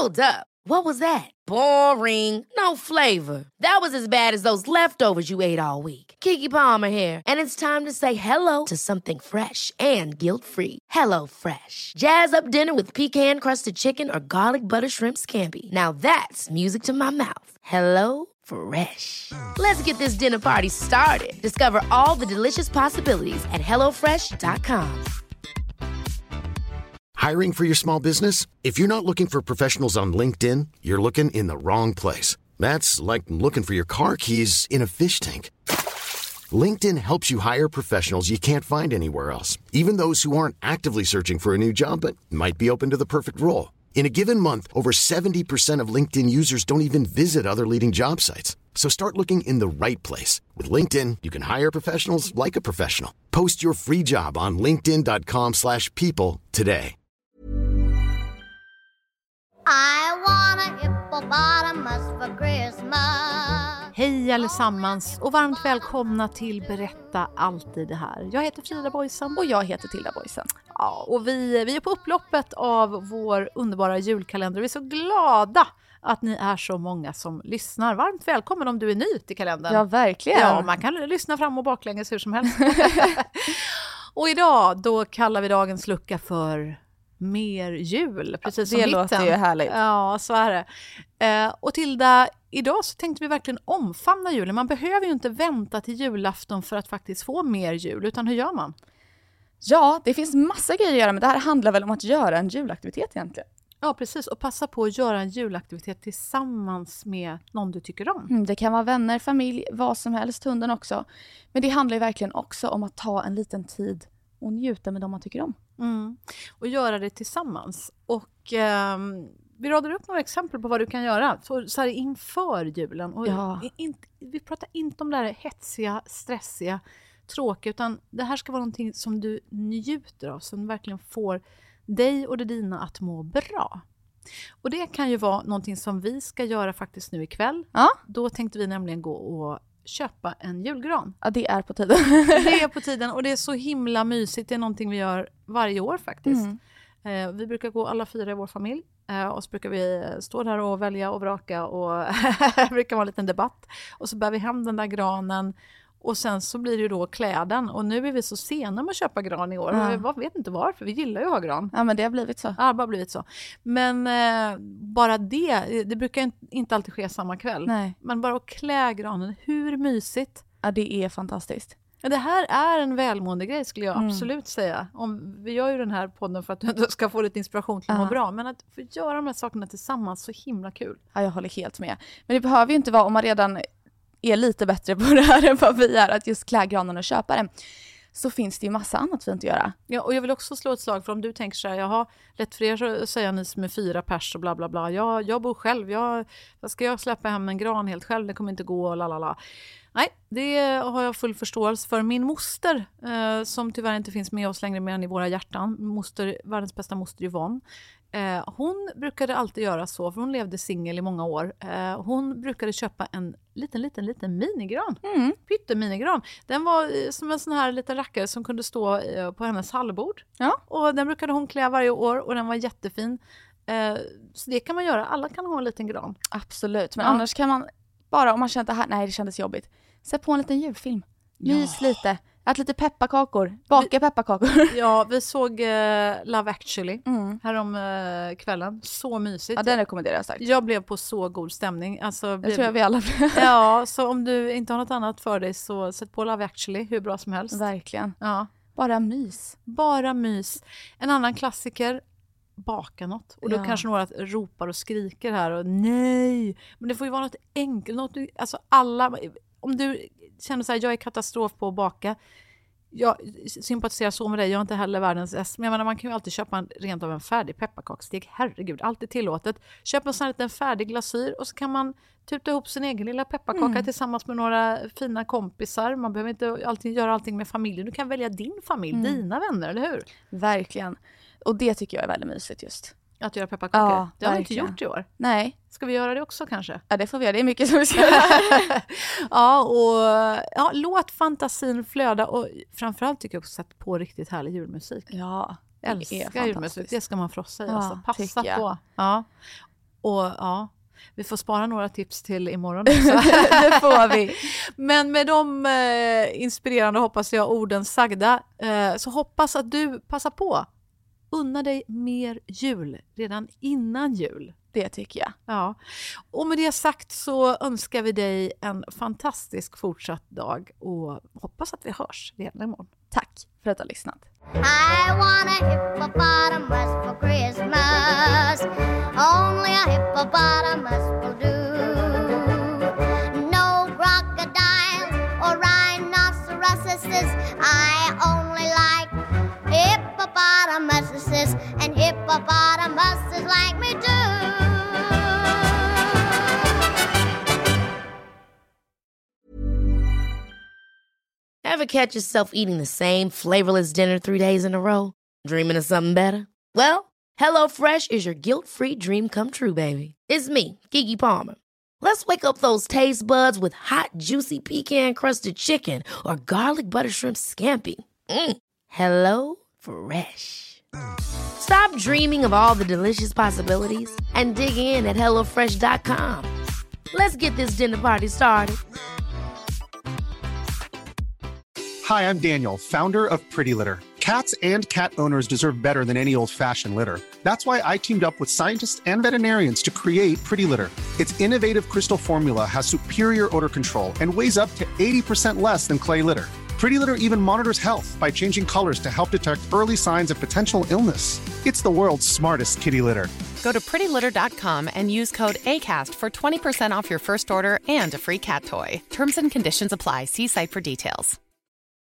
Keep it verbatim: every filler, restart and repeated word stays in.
Hold up. What was that? Boring. No flavor. That was as bad as those leftovers you ate all week. Keke Palmer here, and it's time to say hello to something fresh and guilt-free. Hello Fresh. Jazz up dinner with pecan-crusted chicken or garlic butter shrimp scampi. Now that's music to my mouth. Hello Fresh. Let's get this dinner party started. Discover all the delicious possibilities at hello fresh dot com. Hiring for your small business? If you're not looking for professionals on LinkedIn, you're looking in the wrong place. That's like looking for your car keys in a fish tank. LinkedIn helps you hire professionals you can't find anywhere else, even those who aren't actively searching for a new job but might be open to the perfect role. In a given month, over seventy percent of LinkedIn users don't even visit other leading job sites. So start looking in the right place. With LinkedIn, you can hire professionals like a professional. Post your free job on linkedin dot com slash people today. I want a hippopotamus for Christmas. Hej allesammans och varmt välkomna till Berätta alltid det här. Jag heter Frida Boysen. Och jag heter Tilda Boysen. Ja, och vi, vi är på upploppet av vår underbara julkalender. Vi är så glada att ni är så många som lyssnar. Varmt välkommen om du är ny till kalendern. Ja, verkligen. Ja, man kan lyssna fram och baklänges hur som helst. Och idag då kallar vi dagens lucka för mer jul, precis som det hitten. låter ju härligt. Ja, så är det. Eh, och Tilda, idag så tänkte vi verkligen omfamna julen. Man behöver ju inte vänta till julafton för att faktiskt få mer jul, utan hur gör man? Ja, det finns massa grejer att göra, men det här handlar väl om att göra en julaktivitet egentligen. Ja, precis. Och passa på att göra en julaktivitet tillsammans med någon du tycker om. Mm, det kan vara vänner, familj, vad som helst, hunden också. Men det handlar ju verkligen också om att ta en liten tid och njuta med dem man tycker om. Mm. Och göra det tillsammans. Och eh, vi radar upp några exempel på vad du kan göra så, så här inför julen. Och Ja. in, vi pratar inte om det här hetsiga, stressiga, tråkiga, utan det här ska vara någonting som du njuter av, som verkligen får dig och det dina att må bra. Och det kan ju vara någonting som vi ska göra faktiskt nu ikväll. Ja. Då tänkte vi nämligen gå och köpa en julgran. Ja, det är på tiden. Det är på tiden och det är så himla mysigt. Det är någonting vi gör varje år faktiskt. Mm. Eh, vi brukar gå alla fyra i vår familj. Eh, och så brukar vi stå där och välja och vraka. Och det brukar vara en liten debatt. Och så bär vi hem den där granen. Och sen så blir det ju då kläden. Och nu är vi så sena med att köpa gran i år. Ja. Jag vet inte varför. Vi gillar ju att ha gran. Ja, men det har blivit så. Ja, det har bara blivit så. Men eh, bara det, det brukar inte alltid ske samma kväll. Nej. Men bara att klä granen, hur mysigt. Ja, det är fantastiskt. Det här är en välmående grej skulle jag Mm. absolut säga. Om, vi gör ju den här podden för att du ska få lite inspiration till att må bra. Men att få göra de här sakerna tillsammans, så himla kul. Ja, jag håller helt med. Men det behöver ju inte vara, om man redan är lite bättre på det här än vad vi är, att just klä granen och köpa den, så finns det ju massa annat fint att göra. Ja, och jag vill också slå ett slag för om du tänker så här, jag har lätt för er att säga ni som är fyra pers och bla bla bla. Jag, jag bor själv, jag, ska jag släppa hem en gran helt själv? Det kommer inte gå och lalala. Nej, det har jag full förståelse för. Min moster, eh, som tyvärr inte finns med oss längre mer än i våra hjärtan, moster, världens bästa moster Yvonne, eh, hon brukade alltid göra så, för hon levde singel i många år. Eh, hon brukade köpa en liten, liten, liten minigran. Mm. Pytteminigran. Den var eh, som en sån här liten rackare som kunde stå eh, på hennes hallbord. Ja. Och den brukade hon klä varje år och den var jättefin. Eh, så det kan man göra. Alla kan ha en liten gran. Absolut, men Ja. annars kan man bara, om man känner att det här, nej det kändes jobbigt, sätt på en liten julfilm. Mys Ja. lite. Ät lite pepparkakor. Baka Vi- pepparkakor. Ja, vi såg eh, Love Actually Mm. härom eh, kvällen. Så mysigt. Ja, den rekommenderar jag starkt. Jag blev på så god stämning. Alltså, Det blev... tror jag vi alla blir. Ja, så om du inte har något annat för dig så sätt på Love Actually hur bra som helst. Verkligen. Ja, Bara mys. bara mys. En annan klassiker, baka något. Och då Ja. kanske några ropar och skriker här och nej. Men det får ju vara något enkelt. Något, du- alltså alla, om du känner så här, jag är katastrof på att baka. Jag sympatiserar så med dig, jag är inte heller världens äst. Men jag menar, man kan ju alltid köpa en, rent av en färdig pepparkaksdeg. Herregud, allt är tillåtet. Köp en sån här liten färdig glasyr och så kan man tuta ihop sin egen lilla pepparkaka Mm. tillsammans med några fina kompisar. Man behöver inte alltid göra allting med familjen. Du kan välja din familj, Mm. dina vänner, eller hur? Verkligen. Och det tycker jag är väldigt mysigt just. Att göra pepparkakor. Ja, det har vi inte verkligen. gjort i år. Nej, Ska vi göra det också kanske? ja, det får vi göra. Det är mycket som vi ska göra. Ja, och ja, låt fantasin flöda. Och framförallt tycker jag också sätt på riktigt härlig julmusik. Ja, Jag det är älskar julmusik. fantastiskt. Det ska man frossa i. Ja, Alltså. Passa tycker jag. på. Ja. Och ja, vi får spara några tips till imorgon också. Det får vi. Men med de eh, inspirerande, hoppas jag, orden sagda, eh, så hoppas att du passar på. Unna dig mer jul redan innan jul. Det tycker jag. Ja. Och med det sagt så önskar vi dig en fantastisk fortsatt dag och hoppas att vi hörs redan imorgon. Tack för att du har lyssnat. I want a hippopotamus for Christmas. Only a hippopotamus will do. No crocodiles or rhinoceroses. I only like hippopotamuses, and hippopotamuses like me too. Ever catch yourself eating the same flavorless dinner three days in a row? Dreaming of something better? Well, HelloFresh is your guilt-free dream come true, baby. It's me, Keke Palmer. Let's wake up those taste buds with hot, juicy pecan-crusted chicken or garlic butter shrimp scampi. Mm. Hello Fresh. Stop dreaming of all the delicious possibilities and dig in at hello fresh dot com. Let's get this dinner party started. Hi, I'm Daniel, founder of Pretty Litter. Cats and cat owners deserve better than any old-fashioned litter. That's why I teamed up with scientists and veterinarians to create Pretty Litter. Its innovative crystal formula has superior odor control and weighs up to eighty percent less than clay litter. Pretty Litter even monitors health by changing colors to help detect early signs of potential illness. It's the world's smartest kitty litter. Go to pretty litter dot com and use code ACAST for twenty percent off your first order and a free cat toy. Terms and conditions apply. See site for details.